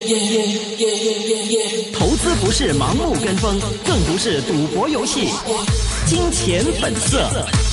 投資不是盲目跟風，更不是賭博遊戲。金錢本色。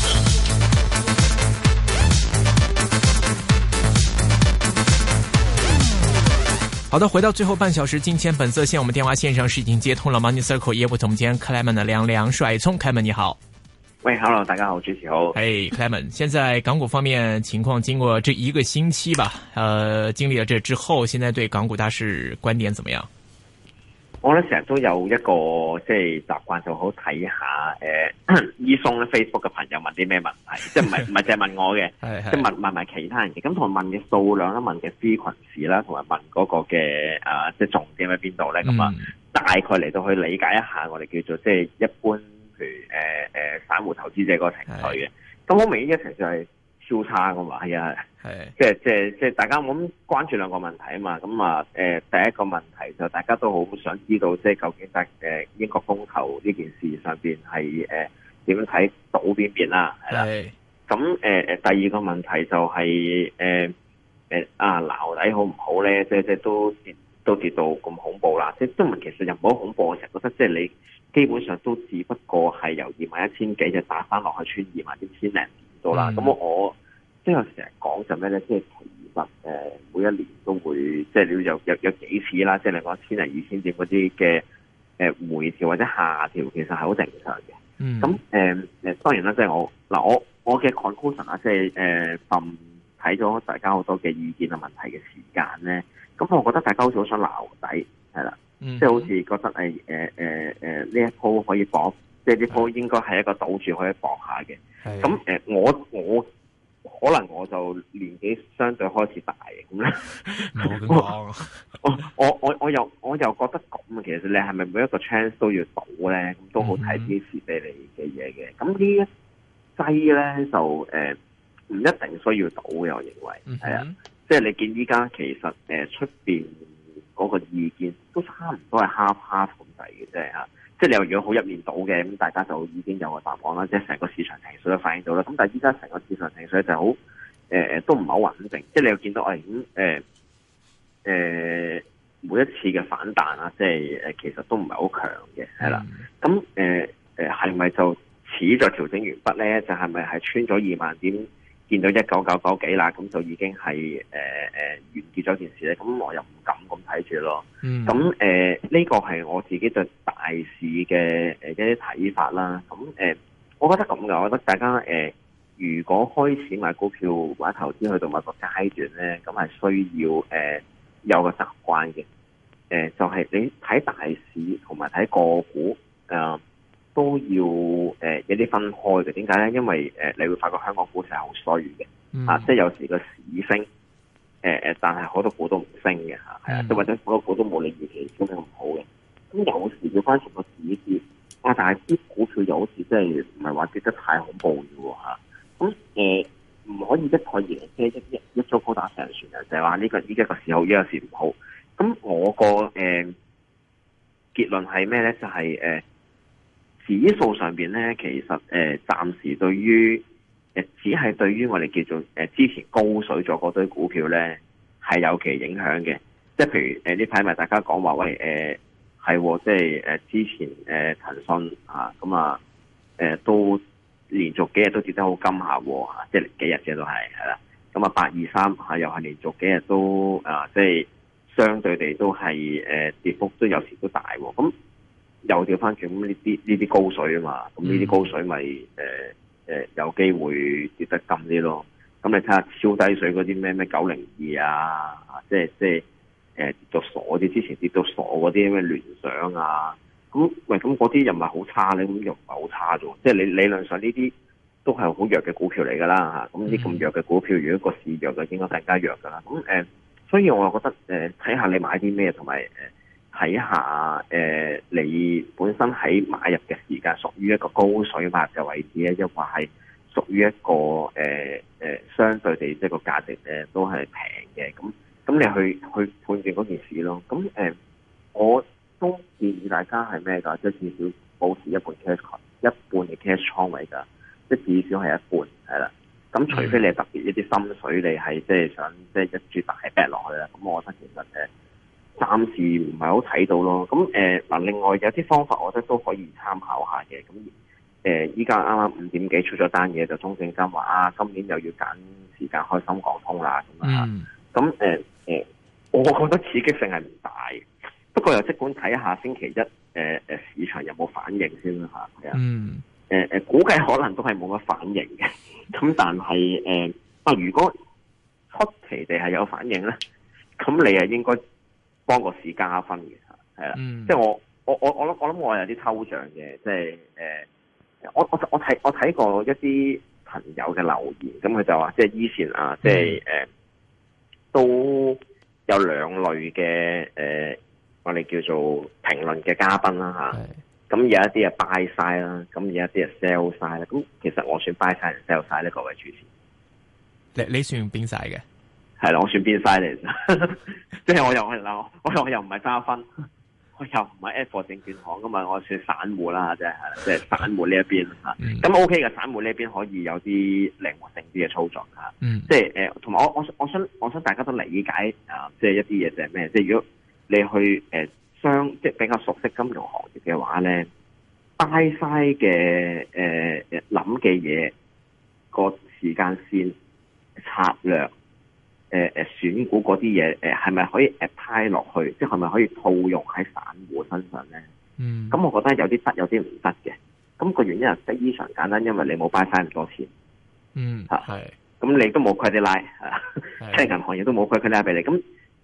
好的，回到最後半小時，金錢本色線，我們電話線上是已經接通了 Money Circle 業務總監 Clement 的梁帥聰 ，Clement 你好。 喂 ，Hello， 大家好，主持好。 嘿 ，Clement， 現在港股方面情況，經過這一個星期吧，經歷了這之後，現在對港股大市觀點怎麼樣？ 我咧成日都有一個即係習慣，就好睇下伊松咧 Facebook 嘅朋友問啲咩問題，即係唔係淨係問我嘅，即係問埋其他人嘅。咁同埋問嘅數量啦，問嘅 frequency 啦，同埋問嗰個嘅即係重點喺邊度咧？咁大概嚟到去理解一下我哋叫做即係一般，譬如散戶投資者嗰個情緒嘅。咁好明顯嘅情緒係超差噶嘛，係啊，即係大家咁關注兩個問題啊嘛，咁第一個問題就大家都好想知道，即係究竟英國公投呢件事上邊係點樣睇到邊邊啦，係啦，咁第二個問題就係撈底好唔好咧？即係都跌到咁恐怖啦，即係都唔其實又唔好恐怖，我成日覺得即係你基本上都只不過係由21,000幾就打翻落去穿21,000零點到啦，咁我即係成日講就咩咧？即係其實每一年都會即係你有幾次啦，即係你講1000零2,000點嗰啲嘅回調或者下調，其實係好正常嘅。咁當然啦，即係我嘅 conclusion 啊，即係睇咗大家好多嘅意見啊問題嘅時間咧，咁我覺得大家好似好想撈底係啦，即係好似覺得呢一鋪可以搏，即係呢鋪應該係一個賭注可以搏下嘅。咁我可能我就年紀相對開始大咁咧，我又覺得咁，其實你係咪每一個 chance 都要賭咧？咁都好睇啲時俾你嘅嘢嘅。咁呢一劑咧就唔一定需要賭嘅，我認為係啊。即係你見依家其實出邊嗰個意見都差唔多係half咁滯嘅啫嚇。即係你又如果好一面倒嘅，咁大家就已經有個答案啦。即係成個市場情緒都反映到啦。咁但係依家成個市場情緒就好都唔係好穩定。即係你又見到每一次嘅反彈啊，即係其實都唔係好強嘅，係啦。咁係咪就似在調整完畢咧？就係咪係穿咗2萬點？見到1999幾啦，咁就已經係完結咗件事咧。咁我又唔敢咁睇住咯。咁呢個係我自己對大市嘅一啲睇法啦。咁我覺得咁嘅，我覺得大家如果開始買股票或者投資去到某個階段咧，咁係需要有個習慣嘅。就係你睇大市同埋睇個股都要有啲分開嘅。點解咧？因為你會發覺香港股市係好衰嘅，即係有時個市升，但係好多股都唔升嘅嚇，係啊，即或者好多股都冇你預期升得咁好嘅。咁有時要翻全個市跌，但係啲股票又好似即係唔係話跌得太恐怖嘅喎嚇。咁唔可以一概而論，一早高打上船啊！就係話呢個依家個市好，依個市唔好。咁我個結論係咩咧？就係指數上邊咧，其實暫時對於只係對於我哋叫做之前高水咗嗰堆股票咧係有其影響嘅。即係譬如呢排咪大家講話喂係即係之前騰訊都連續幾日都跌得好金下喎，即係幾日嘅都係啦。咁823又係連續幾日都即係相對地都係跌幅都有時都大喎。咁又調翻轉，咁呢啲高水啊嘛，咁呢啲高水咪有機會跌得金啲咯。咁你睇下超低水嗰啲咩902啊，即係跌到傻啲，之前跌到傻嗰啲咩聯想啊，咁嗰啲又唔係好差咧，咁又唔係好差啫。即係你理論上呢啲都係好弱嘅股票嚟㗎啦嚇。咁啲咁弱嘅股票，如果個市弱就應該更加弱㗎啦。咁所以我覺得睇下你買啲咩，同埋睇下你本身喺買入嘅時間屬於一個高水買入嘅位置咧，抑或係屬於一個相對地即係個價值都係平嘅。咁你去判斷嗰件事咯。咁我都建議大家係咩㗎？即係至少保持一半嘅 cash 倉位㗎，即係至少係一半係啦。咁除非你係特別一啲心水，你係即係想即係一注大 bet 落去啦。咁我覺得其實暫時唔係好睇到咯。咁嗱，另外有啲方法，我覺得都可以參考下嘅。咁依家啱啱5點幾出咗單嘢，就中證監話今年又要揀時間開深港通啦咁啊。咁我覺得刺激性係唔大，不過又即管睇下星期一市場有冇反應先啦嚇。係啊，估計可能都係冇乜反應嘅。咁但係如果出奇地係有反應咧，咁你係應該幫個市加分嘅，係啦。即係我諗我有啲抽象嘅，即係我睇過一啲朋友嘅留言，咁佢就話即係以前即係都有2類嘅我哋叫做評論嘅嘉賓啦嚇。咁有一啲係 buy side 啦，咁有一啲係 sell side 啦。咁其實我算 buy side 定 sell side 呢？各位主持，你算邊晒嘅？ 係啦，我算邊晒嚟？即係我又唔係揸分，我又唔係 F 證券行噶嘛，我算散戶啦，即係散戶呢一邊吓。咁 OK 嘅，散戶呢一邊可以有啲靈活性啲嘅操作吓。即係同埋我想大家都理解即係一啲嘢就係咩？即係如果你去即係比較熟悉金融行業嘅話咧，buy side嘅諗嘅嘢個時間線策略。選股嗰啲嘢，係咪可以 apply 落去？即係咪可以套用喺散戶身上咧？咁我覺得有啲得，有啲唔得嘅。咁個原因係非常簡單，因為你冇 buy 晒咁多錢。咁你都冇 credit line，即係銀行亦都冇 credit line 俾你。咁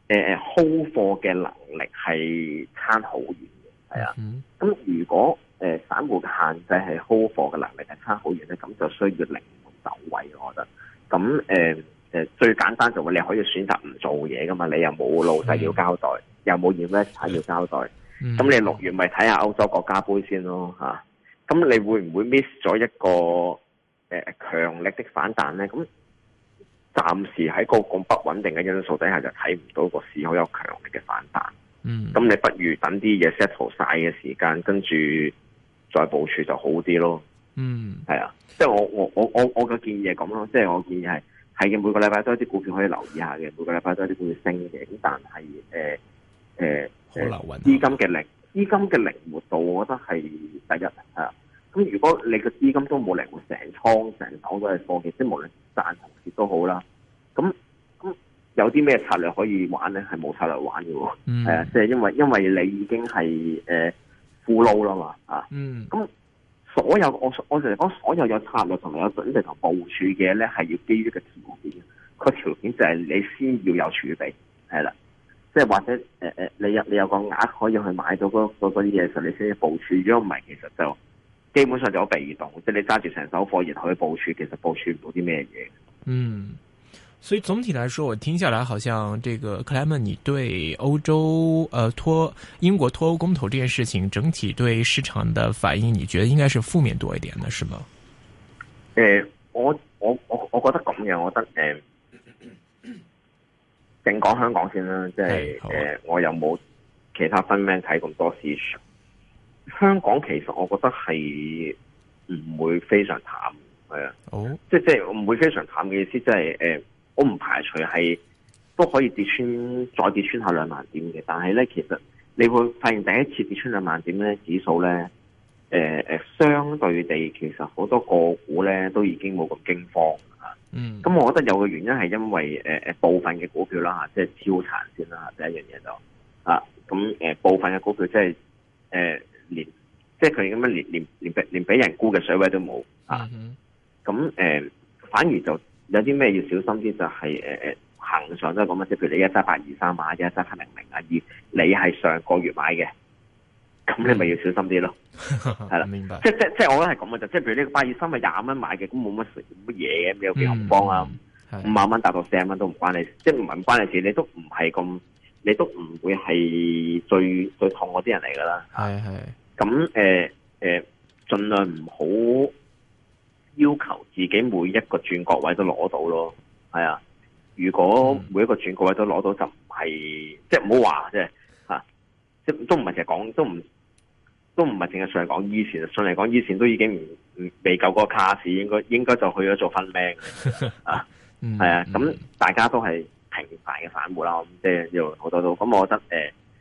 hold 貨嘅能力係差好遠嘅，係啊。咁如果散戶嘅限制係 hold 貨嘅能力係差好遠咧，咁就需要靈活走位，我覺得。咁最簡單就係你可以選擇唔做嘢噶嘛，你又冇老細要交代，又冇 investor 要交代，咁你6月咪睇下歐洲國家杯先咯嚇。咁你會唔會 miss 咗一個強力的反彈咧？咁暫時喺個咁不穩定嘅因素底下，就睇唔到個市好有強力嘅反彈。咁你不如等啲嘢 settle 晒嘅時間，跟住再部署就好啲咯。係啊，即係我嘅建議係咁咯，即係我建議係嘅，每個禮拜都有啲股票可以留意下嘅，每個禮拜都有啲股票升嘅。咁但係資金嘅靈活度，我覺得係第一啊。咁如果你個資金都冇靈活，成手都係貨嘅，即係無論賺同蝕都好啦。咁有啲咩策略可以玩咧？係冇策略玩嘅喎。即係因為你已經係full load啦嘛啊。咁所有我成日講，所有有策略同埋有準備同部署嘅咧，係要基於個條件。個條件就係你先要有儲備，係啦。即係或者你有個額可以去買到嗰啲嘢時候，你先要部署。如果唔係，其實就基本上就好被動。即係你揸住成手貨然後去部署，其實部署唔到啲咩嘢。 所以總體來說，我聽下來，好像這個克萊門，你對歐洲英國脫歐公投這件事情，整體對市場的反應，你覺得應該是負面多一點的，是嗎？ 我覺得咁嘅，我覺得淨講香港先啦，即係我又冇其他分名睇咁多市場。香港其實我覺得係唔會非常淡，係啊，即係唔會非常淡嘅意思，即係我唔排除係都可以再跌穿下2萬點嘅，但係咧，其實你會發現第一次跌穿2萬點咧，指數咧，相對地其實好多個股咧都已經冇咁驚慌啊。咁我覺得有個原因係因為部分嘅股票啦嚇，即係超殘先啦，第一樣嘢就咁部分嘅股票即係連即係佢咁樣連俾人沽嘅水位都冇啊。咁反而就有啲咩要小心啲，就係恆常都係咁啊，即係譬如你17823啊，17700啊，而你係上個月買嘅，咁你咪要小心啲咯。係啦，明白。即係我覺得係咁嘅，就即係譬如呢個823咪20蚊買嘅，咁冇乜嘢嘅，有幾恐慌啊？5萬蚊達到40蚊都唔關你，即係唔關你事，你都唔係咁，你都唔會係最痛嗰啲人嚟噶啦。係。咁盡量唔好要求自己每一個轉角位都攞到咯，係啊。如果每一個轉角位都攞到，就唔係即係唔好話即係嚇，即係都唔係淨係講，都唔係淨係上嚟講以前，上嚟講以前都已經未夠嗰個卡士，應該就去咗做分命啊，係啊。咁大家都係平凡嘅散戶啦，即係要好多都咁，我覺得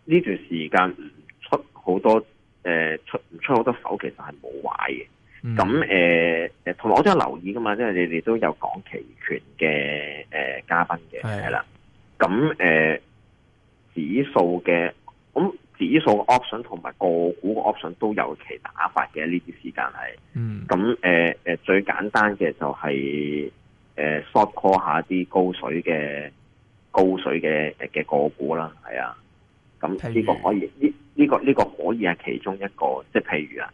呢段時間唔出好多唔出好多手，其實係冇壞嘅。咁同埋我都有留意噶嘛，即係你哋都有講期權嘅嘉賓嘅係啦。咁指數嘅指數嘅 option 同埋個股嘅 option 都有其打法嘅，呢啲時間係。咁最簡單嘅就係short call 下啲高水嘅個股啦，係啊。咁呢個可以呢個可以係其中一個，即係譬如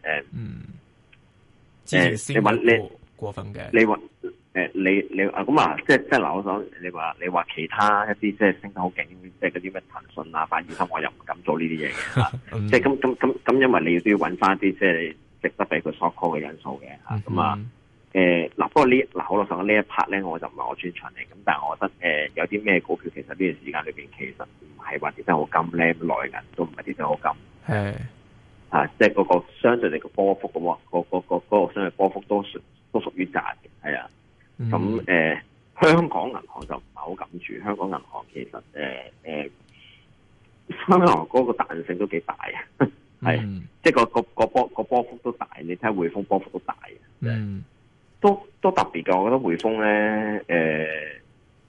你話你過分嘅， 你話你咁啊，即係嗱，我想你話其他一啲即係升得好勁，即係嗰啲咩騰訊啊、823，我又唔敢做呢啲嘢嘅，即係咁，因為你都要揾翻啲即係值得俾佢 short call 嘅因素嘅咁啊。嗱，不過好老實講呢一 part 咧，我就唔係我專長嚟，咁但係我覺得有啲咩股票其實呢段時間裏邊其實唔係話跌得好金咧，內銀都唔係跌得好金，係即係嗰個相對嚟個波幅嗰個相對波幅都屬於窄嘅，係啊。咁香港銀行就唔係好敢住，香港銀行其實香港銀行嗰個彈性都幾大啊，係即係個波幅都大，你睇下匯豐波幅都大嘅，都特別嘅。我覺得匯豐咧，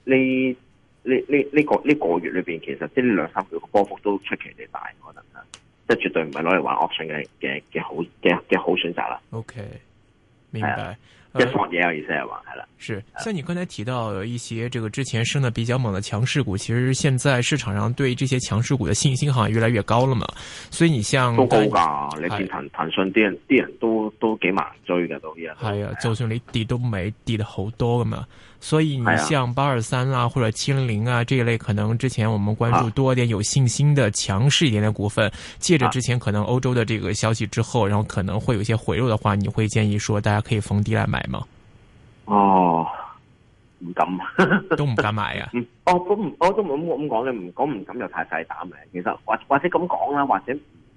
呢個月裏邊其實即係呢2-3個月個波幅都出奇地大，我覺得即係絕對唔係攞嚟玩 option 嘅好選擇啦。 OK， 明白。 一索嘢有意思係話係啦， 是像你剛才提到有一些這個之前升得比較猛的強勢股，其實現在市場上對這些強勢股的信心好像越來越高了嘛。所以你像都高噶，你見騰訊啲人都幾猛追嘅都依家。係啊， 就算你跌都未跌得好多噶嘛。所以你像823啊或者700啊這一類，可能之前我們關注多一點有信心的強勢一點的股份，借着之前可能歐洲的這個消息之後，然後可能會有一些回落的話，你會建議說大家可以逢低來買嗎？ 哦，唔敢， 都唔敢買啊！ 我都冇咁講嘅，唔敢又太細膽嘅。其實或者咁講啦，或者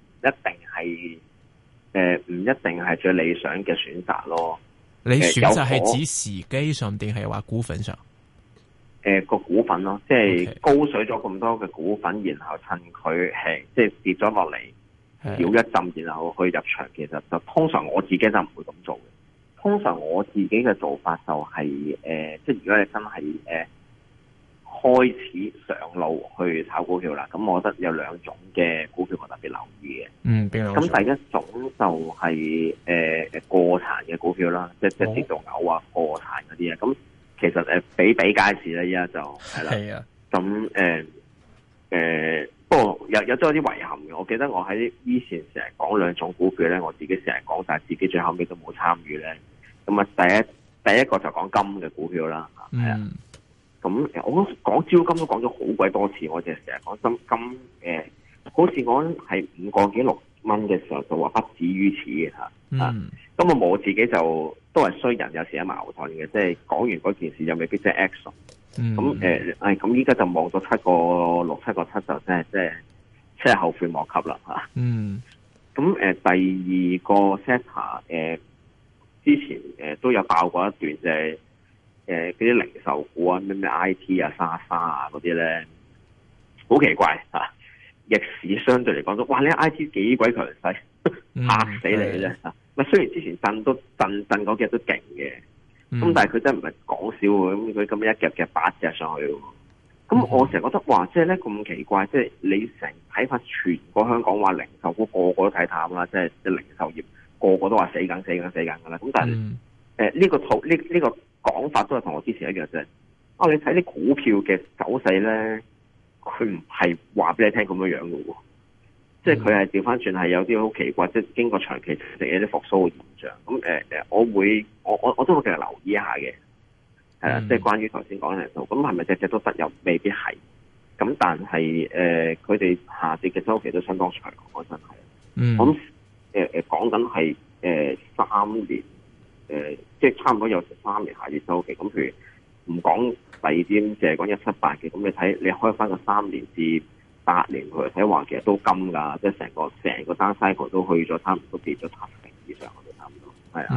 唔一定係最理想嘅選擇咯。 你選擇係指時機上定係話股份上？ 個股份咯，即係高水咗咁多嘅股份，然後趁佢係即係跌咗落嚟，繞一陣，然後去入場。其實就通常我自己就唔會咁做嘅。通常我自己嘅做法就係即係如果你真係開始上路去炒股票啦，咁我覺得有2種嘅股票我特別留意嘅。邊兩種？咁第一種就係過殘嘅股票啦，即係跌到嘔啊過殘嗰啲啊。咁其實比皆是啦，依家就係啦。咁不過有啲遺憾嘅。我記得我喺以前成日講2種股票咧，我自己成日講，但係自己最後尾都冇參與咧。咁啊，第一個就講金嘅股票啦，係啊。咁我講招金都講咗好鬼多次，我淨係成日講金好似我係5個幾6蚊嘅時候就話不止於此嘅嚇。咁我自己就都係衰人，有時有矛盾嘅，即係講完嗰件事又未必即係 action。咁咁依家就望到7個6、7個7就即係後悔莫及啦嚇。咁第二個 sector 之前都有爆過一段，就係嗰啲零售股啊，咩 IT 啊、莎莎啊嗰啲咧，好奇怪嚇！逆市相對嚟講都，哇！你 IT 幾鬼強勢，嚇死你咧嚇！雖然之前震嗰幾日都勁嘅，咁但係佢真係唔係講笑喎，咁佢咁一夾夾8隻上去喎。咁我成日覺得，哇！即係咧咁奇怪，即係你成睇法全個香港話零售股個個都睇淡啦，即係零售業。個個都話死緊噶啦，咁但係呢個講法都係同我之前一樣啫。你睇啲股票嘅走勢咧，佢唔係話俾你聽咁樣嘅喎，即係佢係調翻轉係有啲好奇怪，即係經過長期食有啲復甦嘅現象。咁我都會繼續留意一下嘅，係啦，即係關於頭先講嘅數，咁係咪隻隻都得？又未必係。咁但係佢哋下跌嘅週期都相當長，我真係。咁講緊係3年，即係差唔多有3年下跌周期。咁譬如唔講第二啲，就係講178嘅。咁你睇你開翻個3年至8年去睇話，其實都金㗎，即係成個單 cycle 都去咗，差唔多跌咗70%以上，我哋差唔多係啊。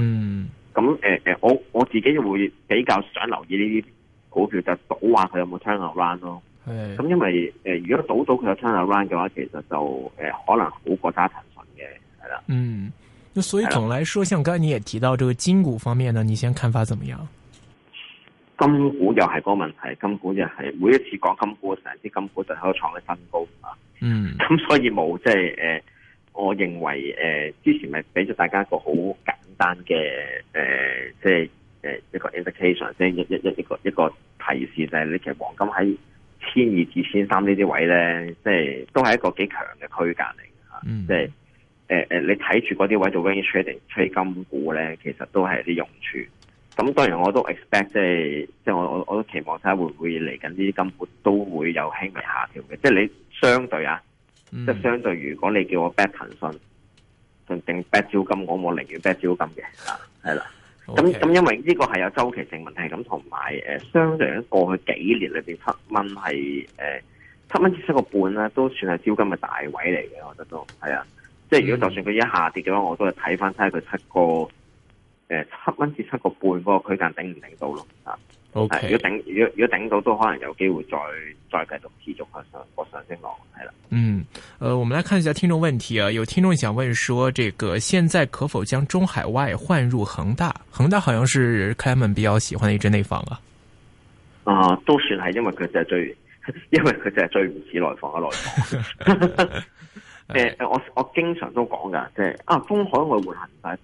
咁我自己會比較想留意呢啲股票，就賭話佢有冇 turn around 咯。 咁因為如果賭到佢有 turnaround 嘅話，其實就可能好過揸騰訊嘅，係啦。 那所以總來說，像剛才你也提到這個金股方面呢，你現在看法怎麼樣？ 金股又係嗰個問題，金股又係每一次講金股，成支金股就喺度創嘅新高啊。咁所以冇即係我認為之前咪俾咗大家一個好簡單嘅即係一個 indication， 即係一個提示，就係你其實黃金喺1200至1300呢啲位咧，即係都係一個幾強嘅區間嚟嘅嚇。即係你睇住嗰啲位做 range trading 吹金股咧，其實都係啲用處。咁當然我都 expect 即係我都期望睇下會唔會嚟緊呢啲金股都會有輕微下調嘅。即係你相對即係相對，如果你叫我 bet 騰訊定 bet 招金，我寧願 bet 招金嘅係啦。咁因為呢個係有周期性問題，咁同埋相對喺過去幾年裏邊7蚊係7蚊至7個半咧，都算係招金嘅大位嚟嘅，我覺得都係啊。即係如果就算佢一下跌嘅話，我都係睇翻睇下佢7蚊至7個半嗰個區間頂唔頂到咯啊。 Okay. 如果頂到，都可能有機會再繼續持續個上升浪，係啦。 我們來看一下聽眾問題啊，有聽眾想問說，這個現在可否將中海外換入恒大？恒大好像是 Clement 比較喜歡的一支內房啊。 都算係，因為佢就係最唔似內房嘅內房。我經常都講噶，即係中海外換恒大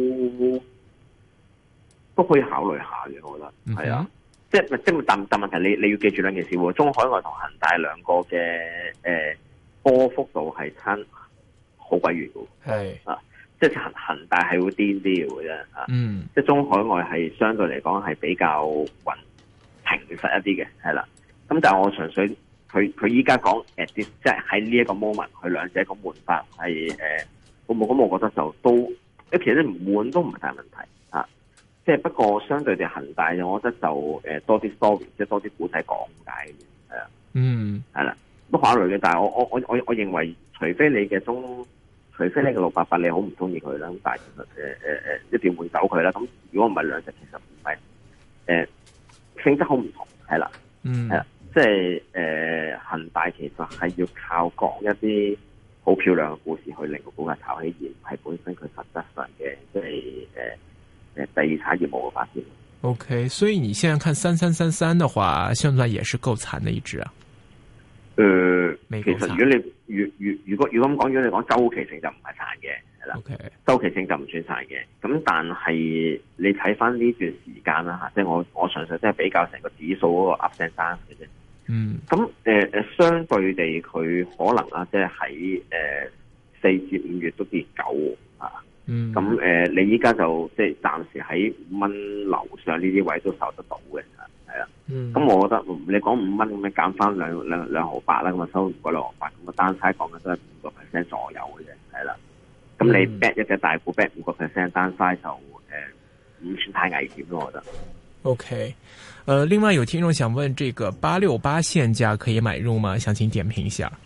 都可以考慮下嘅，我覺得係啊。即係但問題你要記住兩件事喎，中海外同恒大兩個嘅波幅度係差好鬼遠嘅。係即係恒大係會癲啲嘅啫。即係中海外係相對嚟講係比較平實一啲嘅，係啦。咁但係我純粹佢依家講即係喺呢一個 moment， 佢兩者個換法係咁我覺得就都其實唔換都唔係大問題。即係不過相對地恒大，我覺得就多啲 story， 即係多啲故仔講解嘅，係啊，係啦，都考慮嘅。但係我認為，除非你嘅688你好唔中意佢啦，咁但係其實一定要換走佢啦。咁如果唔係兩隻，其實唔係性質好唔同，係啦，係啦，即係恒大其實係要靠講一啲好漂亮嘅故事去令個股價炒起，而唔係本身佢實質上嘅即係第二產業務嘅發展。 OK， 所以你現在看3333的話，現在也是夠慘的一支啊。 其實如果咁講，如果你講周期性就唔係慘嘅，係啦。 Okay. 周期性就唔算慘嘅。咁但係你睇翻呢段時間啦吓，即係我純粹即係比較成個指數嗰個 up and down 嘅啫。咁相對地佢可能即係喺4至5月都跌9啊。咁你依家就即係暫時喺5蚊樓上呢啲位都受得到嘅，係啦。咁我覺得你講5蚊咁樣減翻兩毫八啦，咁啊收唔過2毫八，咁啊單差講嘅都係5% 左右嘅啫，係啦。咁你 bet 一隻大股 bet 5% 單差就唔算太危險咯，我覺得。 OK，另外有聽眾想問，這個868現價可以買入嗎？想請點評一下。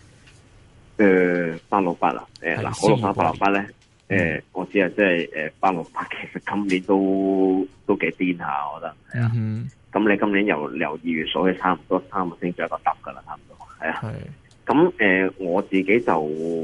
868啦，好868咧。我知啊，即係868，其實今年都幾癲下，我覺得係啊。咁你今年由2月數起，差唔多3個星期一個揼噶啦，差唔多係啊。咁我自己就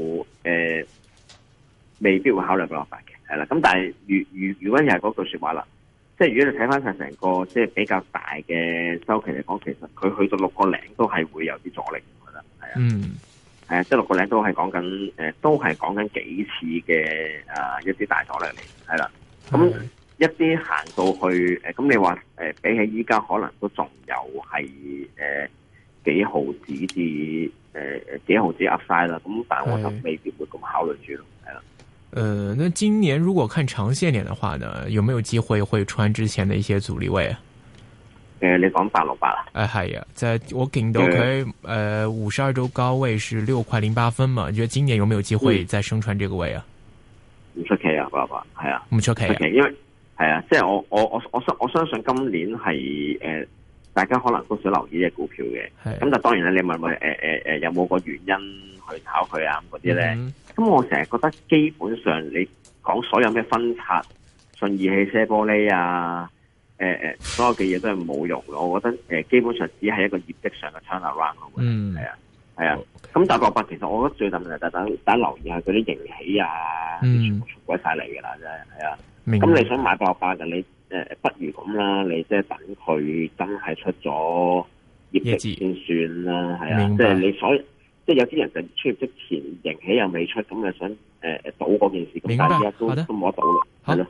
未必會考慮868嘅，係啦。咁但係如果又係嗰句說話啦，即係如果你睇翻晒成個即係比較大嘅周期嚟講，其實佢去到6個零都係會有啲阻力，我覺得係啊。係啊，即係6個零都係講緊，都係講緊幾次嘅一啲大阻力嚟，係啦。咁一啲行到去咁你話比起依家可能都仲有係幾毫子至幾毫子 Upside 啦。咁但係我就未必會咁考慮住咯，係啦。 那今年如果看長線點的話呢，有沒有機會會穿之前的一些阻力位啊？ 你講868啊？ 係啊，在我見到佢52周高位是6.08嘛，你覺得今年有沒有機會再升穿這個位啊？ 唔出奇啊，868係啊， 唔出奇， 因為係啊，即係我相信今年係大家可能都想留意呢隻股票嘅，咁但當然咧，你問我有冇個原因去炒佢啊嗰啲咧？咁我成日覺得基本上你講所有咩分拆、信義汽車玻璃啊。 所有嘅嘢都係冇用嘅。我覺得基本上只係一個業績上嘅 turnaround 咯。係啊，係啊。咁但係888其實我覺得最大問題就係大家留意下嗰啲盈喜啊，全部出鬼晒嚟㗎啦，真係係啊。咁你想買888嘅，你不如咁啦，你即係等佢真係出咗業績先算啦，係啊。即係你即係有啲人就出業績前盈喜又未出，咁就想賭嗰件事，咁但係而家都冇得賭啦，係咯。